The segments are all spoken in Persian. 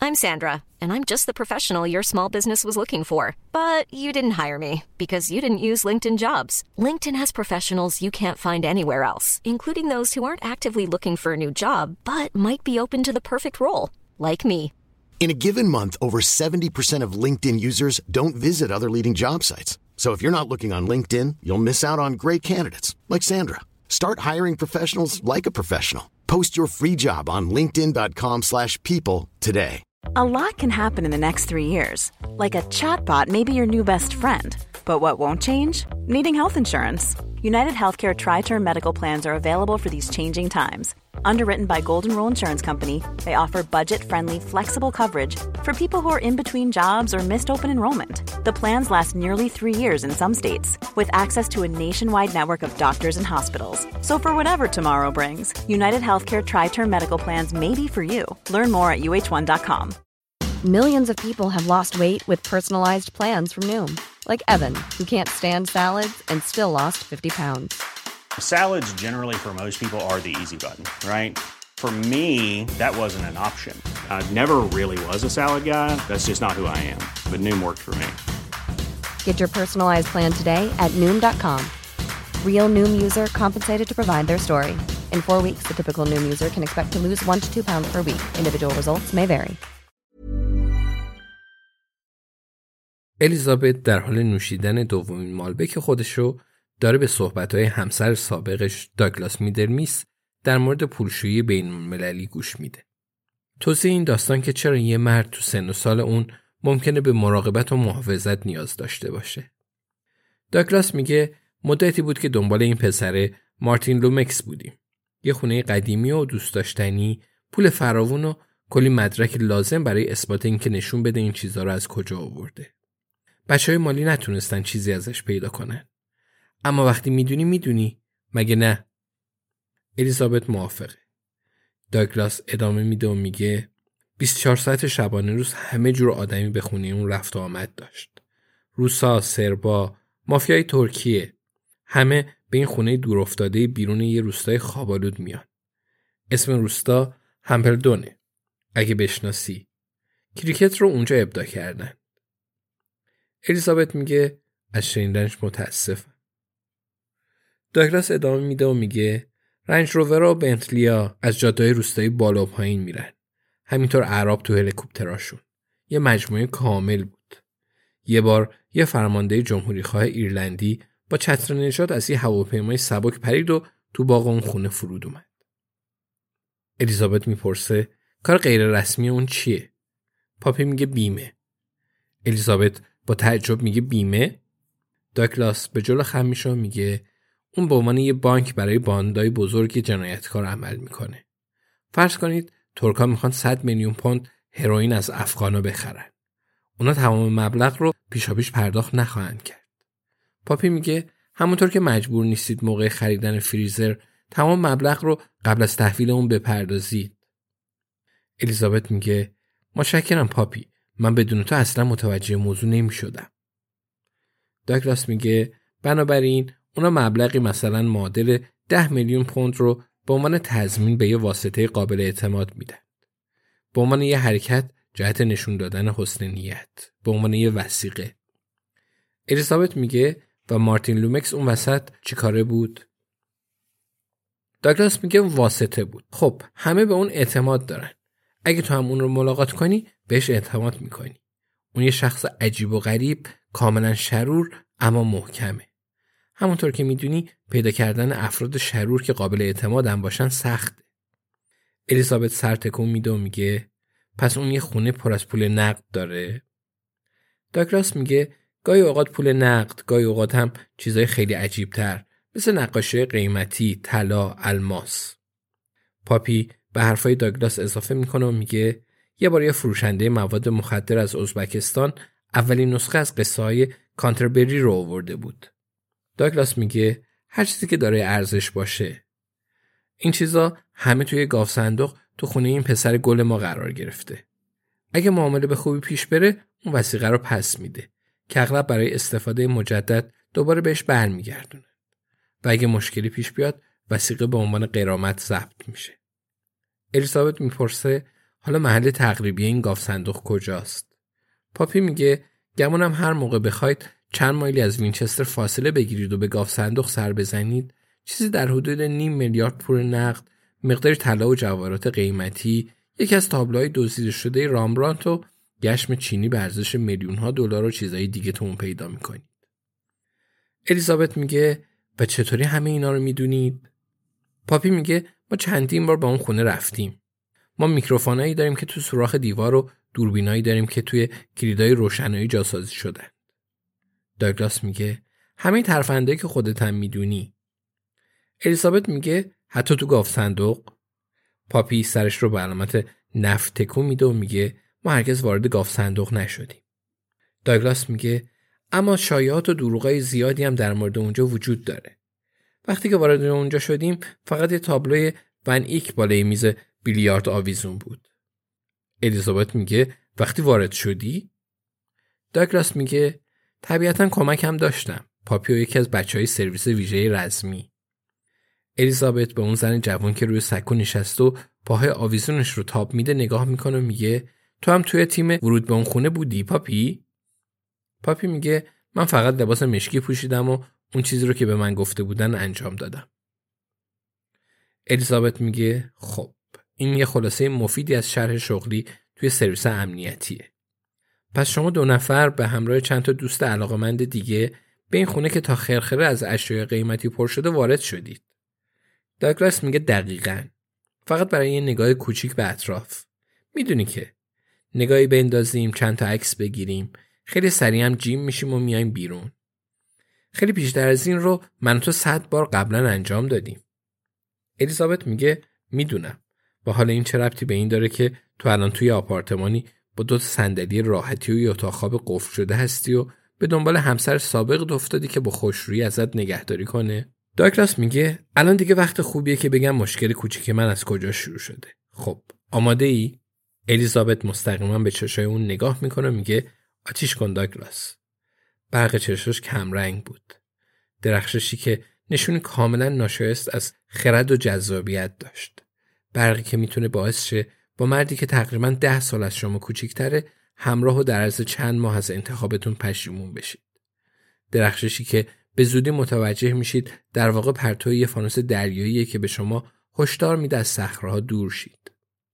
I'm Sandra, and I'm just the professional your small business was looking for. But you didn't hire me because you didn't use LinkedIn Jobs. LinkedIn has professionals you can't find anywhere else, including those who aren't actively looking for a new job, but might be open to the perfect role, like me. In a given month, over 70% of LinkedIn users don't visit other leading job sites. So if you're not looking on LinkedIn, you'll miss out on great candidates like Sandra. Start hiring professionals like a professional. Post your free job on linkedin.com/people today. A lot can happen in the next 3 years. Like a chatbot may be your new best friend. But what won't change? Needing health insurance. United Healthcare Tri-Term Medical Plans are available for these changing times. Underwritten by Golden Rule Insurance Company, they offer budget-friendly, flexible coverage for people who are in between jobs or missed open enrollment. The plans last nearly 3 years in some states, with access to a nationwide network of doctors and hospitals. So for whatever tomorrow brings, United Healthcare Tri-Term Medical Plans may be for you. Learn more at uh1.com. Millions of people have lost weight with personalized plans from Noom. Like Evan, who can't stand salads and still lost 50 pounds. Salads generally for most people are the easy button, right? For me, that wasn't an option. I never really was a salad guy. That's just not who I am. But Noom worked for me. Get your personalized plan today at Noom.com. Real Noom user compensated to provide their story. In 4 weeks, the typical Noom user can expect to lose 1 to 2 pounds per week. Individual results may vary. الیزابت در حال نوشیدن دومین مالبک خودشو داره به صحبت‌های همسر سابقش داگلاس میدرمیس در مورد پولشویی بین‌المللی گوش میده. توضیح این داستان که چرا یه مرد تو سن و سال اون ممکنه به مراقبت و محافظت نیاز داشته باشه. داگلاس میگه مدتی بود که دنبال این پسر مارتین لومکس بودیم. یه خونه قدیمی و دوست داشتنی، پول فراوون و کلی مدرک لازم برای اثبات اینکه نشون بده این چیزا رو از کجا آورده. بچه‌های مالی نتونستن چیزی ازش پیدا کنن. اما وقتی میدونی مگه نه؟ الیزابت موافقه. داگلاس ادامه میده و میگه 24 ساعت شبانه روز همه جور آدمی به خونه اون رفت و آمد داشت. روسا، سربا، مافیای ترکیه، همه به این خونه دور افتاده بیرون یه روستای خوابالود میان. اسم روستا همپلدونه. اگه بشناسی. کریکت رو اونجا ابداع کردن. الیزابت میگه از شنیدنش متاسفم. داگلاس ادامه میده و میگه رنج روور و بنتلیا از جاده‌های روستایی بالا و پایین میرن. همینطور اعراب تو هلیکوپتراشون. یه مجموعه کامل بود. یه بار یه فرمانده جمهوریخواه ایرلندی با چتر نجات از یه هواپیمای سبک پرید و تو باغ اون خونه فرود اومد. الیزابت میپرسه کار غیر رسمی اون چیه؟ پاپی میگه بیمه. الیزابت با تعجب میگه بیمه؟ داگلاس به جلو خم میشه و میگه اون به عنوان یه بانک برای باندای بزرگ جنایتکار عمل میکنه. فرض کنید ترکا میخوان 100 میلیون پوند هروئین از افغانا بخرن. اونا تمام مبلغ رو پیشاپیش پرداخت نخواهند کرد. پاپی میگه همونطور که مجبور نیستید موقع خریدن فریزر تمام مبلغ رو قبل از تحویل اون بپردازید. الیزابت میگه متشکرم پاپی، من بدون تو اصلا متوجه موضوع نمیشدم. داگلاس میگه بنابراین اونا مبلغی مثلا معادل 10 میلیون پوند رو به عنوان تضمین به یه واسطه قابل اعتماد میدن. به عنوان یه حرکت جهت نشون دادن حسن نیت. به عنوان یه وثیقه. الیزابت میگه و مارتین لومکس اون وسط چی کاره بود؟ داگلاس میگه واسطه بود. خب همه به اون اعتماد دارن. اگه تو هم اون رو ملاقات کنی بهش اعتماد میکنی. اون یه شخص عجیب و غریب، کاملا شرور اما محکمه. همونطور که میدونی پیدا کردن افراد شرور که قابل اعتماد هم باشن سخته. الیزابت سر تکون میده و میگه پس اون یه خونه پر از پول نقد داره؟ داگلاس میگه گاهی اوقات پول نقد، گاهی اوقات هم چیزای خیلی عجیب تر مثل نقاشی قیمتی، طلا، الماس. پاپی به حرفای داگلاس اضافه میکنه و میگه یه بار یه فروشنده مواد مخدر از ازبکستان اولین نسخه از قصه‌های کانتربری رو آورده بود. داگلاس میگه هر چیزی که داره ارزش باشه. این چیزا همه توی گاف صندوق تو خونه این پسر گل ما قرار گرفته. اگه معامله به خوبی پیش بره اون وثیقه رو پس میده که اغلب برای استفاده مجدد دوباره بهش برمیگردونه. و اگه مشکلی پیش بیاد وثیقه به عنوان غرامت ضبط میشه. الیزابت میپرسه حالا محل تقریبی این گاو صندوق کجاست؟ پاپی میگه گمونم هر موقع بخواید چند مایلی از وینچستر فاصله بگیرید و به گاو صندوق سر بزنید، چیزی در حدود 0.5 میلیارد پول نقد، مقدار طلا و جواهرات قیمتی، یکی از تابلوهای دزدیده شده رامبرانت و گشم چینی به ارزش میلیون‌ها دلار و چیزای دیگه تو اون پیدا می‌کنید. الیزابت میگه و چطوری همه اینا رو میدونید؟ پاپی میگه ما چندین بار با اون خونه رفتیم. ما میکروفونایی داریم که تو سوراخ دیوار و دوربینایی داریم که توی کلیدای روشنایی جاسازی شدن. داگلاس میگه همه ترفندایی که خودت هم میدونی. الیزابت میگه حتی تو گاو صندوق؟ پاپی سرش رو به علامت نفی تکون میده و میگه ما هرگز وارد گاو صندوق نشدیم. داگلاس میگه اما شایعات و دروغای زیادی هم در مورد اونجا وجود داره. وقتی که وارد اونجا شدیم فقط یه تابلوی ون ایک بالای میز بیلیارد آویزون بود. الیزابت میگه وقتی وارد شدی؟ داگلاس میگه طبیعتاً کمکم داشتم. پاپی و یکی از بچهای سرویس ویژه رزمی. الیزابت به اون زن جوان که روی سکو نشسته و پاهای آویزونش رو تاب میده نگاه میکنه و میگه تو هم توی تیم ورود به اون خونه بودی پاپی؟ پاپی میگه من فقط لباس مشکی پوشیدم و اون چیزی رو که به من گفته بودن انجام دادم. الیزابت میگه خب این یه خلاصه مفیدی از شرح شغلی توی سرویس امنیتیه. پس شما 2 نفر به همراه چند تا دوست علاقه‌مند دیگه به این خونه که تا خرخره از اشیاء قیمتی پر شده وارد شدید. داگلاس میگه دقیقاً. فقط برای یه نگاه کوچیک به اطراف. میدونی که نگاهی بندازیم، چند تا عکس بگیریم، خیلی سریع هم جیم میشیم و میایم بیرون. خیلی بیشتر از این رو من و تو 100 بار قبلا انجام دادیم. الیزابت میگه میدونم. با حال این چه ربطی به این داره که تو الان توی آپارتمانی با 2 صندلی راحتی و یه اتاق خواب قفل شده هستی و به دنبال همسر سابقت افتادی که با خوشرویی ازت نگهداری کنه؟ داگلاس میگه الان دیگه وقت خوبیه که بگم مشکل کوچیک من از کجا شروع شده. خب آماده ای؟ الیزابت مستقیما به چشای اون نگاه میکنه و میگه آتیش کن داگلاس. برق چشاش کم رنگ بود. درخششی که نشون کاملا ناشایست از خرد و جذابیت داشت. برقی که میتونه باعث شه با مردی که تقریبا 10 سال از شما کوچیک‌تره همراه و در عرض چند ماه از انتخابتون پشیمون بشید. درخششی که به زودی متوجه میشید در واقع پرتوی یه فانوس دریاییه که به شما هشدار میده از صخره‌ها دور شید.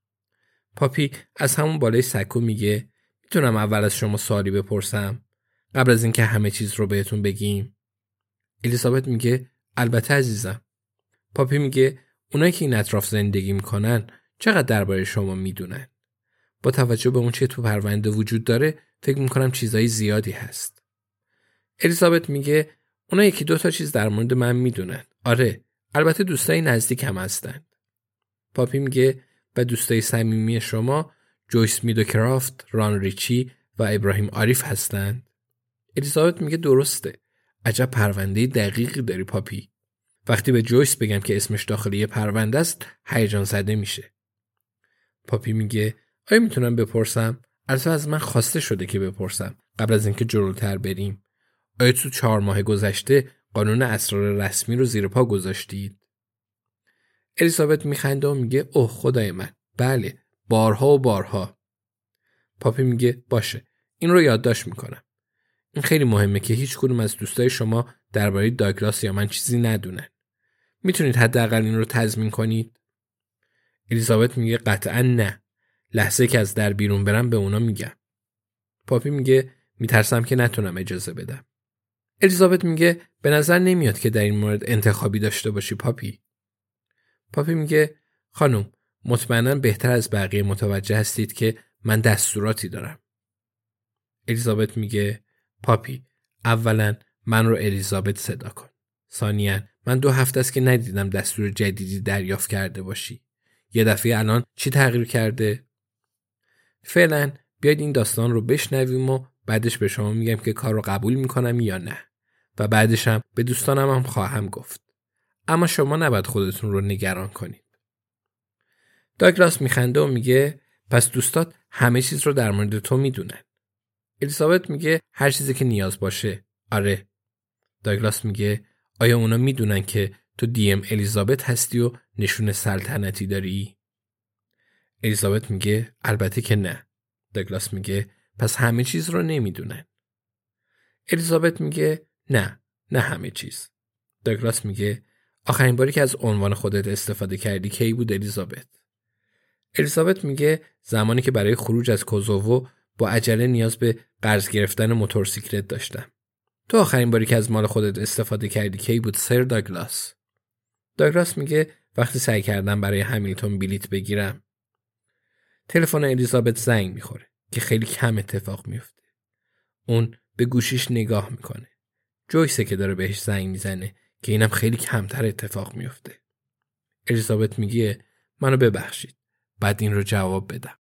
پاپی از همون بالای سکو میگه میتونم اول از شما سوالی بپرسم قبل از اینکه همه چیز رو بهتون بگیم؟ الیزابت میگه البته عزیزم. پاپی میگه اونایی که این اطراف زندگی میکنن چقدر درباره شما میدونن؟ با توجه به اون چه تو پرونده وجود داره فکر میکنم چیزای زیادی هست. الیزابت میگه اونا 1-2 تا چیز در مورد من میدونن. آره، البته دوستای نزدیکم هستن. پاپی میگه و دوستای صمیمی شما جویس میدوکرافت، ران ریچی و ابراهیم عارف هستن؟ الیزابت میگه درسته. عجب پرونده دقیقی داری پاپی. وقتی به جویس بگم که اسمش داخل یه پرونده است هیجان زده میشه. پاپی میگه آیا میتونم بپرسم؟ البته از من خواسته شده که بپرسم قبل از اینکه جلوتر بریم. آیا تو 4 ماه گذشته قانون اسرار رسمی رو زیر پا گذاشتید؟ الیزابت میخنده و میگه اوه خدای من، بله، بارها و بارها. پاپی میگه باشه، این رو یادداشت میکنم. این خیلی مهمه که هیچ کدوم از دوستای شما درباره داگلاس یا من چیزی ندونن. میتونید حداقل این رو تضمین کنید؟ الیزابت میگه قطعا نه. لحظه که از در بیرون برم به اونا میگم. پاپی میگه میترسم که نتونم اجازه بدم. الیزابت میگه به نظر نمیاد که در این مورد انتخابی داشته باشی پاپی. پاپی میگه خانم مطمئنا بهتر از بقیه متوجه هستید که من دستوراتی دارم. الیزابت میگه پاپی اولا من رو الیزابت صدا کن. ثانیاً من 2 هفته است که ندیدم دستور جدیدی دریافت کرده باشی. یه دفعه الان چی تغییر کرده؟ فعلا بیاید این داستان رو بشنویم و بعدش به شما میگم که کار رو قبول میکنم یا نه و بعدش هم به دوستانم هم خواهم گفت. اما شما نباید خودتون رو نگران کنید. داگلاس میخنده و میگه پس دوستات همه چیز رو در مورد تو میدونن. الیزابت میگه هر چیزی که نیاز باشه. آره. داگلاس میگه آیا اونا میدونن که تو DM الیزابت هستی و نشون سلطنتی داری؟ الیزابت میگه البته که نه. داگلاس میگه پس همه چیز رو نمیدونن. الیزابت میگه نه همه چیز. داگلاس میگه آخرین باری که از عنوان خودت استفاده کردی کی بود الیزابت؟ الیزابت میگه زمانی که برای خروج از کوزوو با عجله نیاز به قرض گرفتن موتورسیکلت داشتم. تو آخرین باری که از مال خودت استفاده کردی کی بود سر داگلاس؟ داگلاس میگه وقتی سعی کردم برای همیلتون بلیت بگیرم. تلفن الیزابت زنگ میخوره که خیلی کم اتفاق میفته. اون به گوشیش نگاه میکنه. جویسه که داره بهش زنگ میزنه که اینم خیلی کمتر اتفاق میفته. الیزابت میگه منو ببخشید. بعد این رو جواب بدم.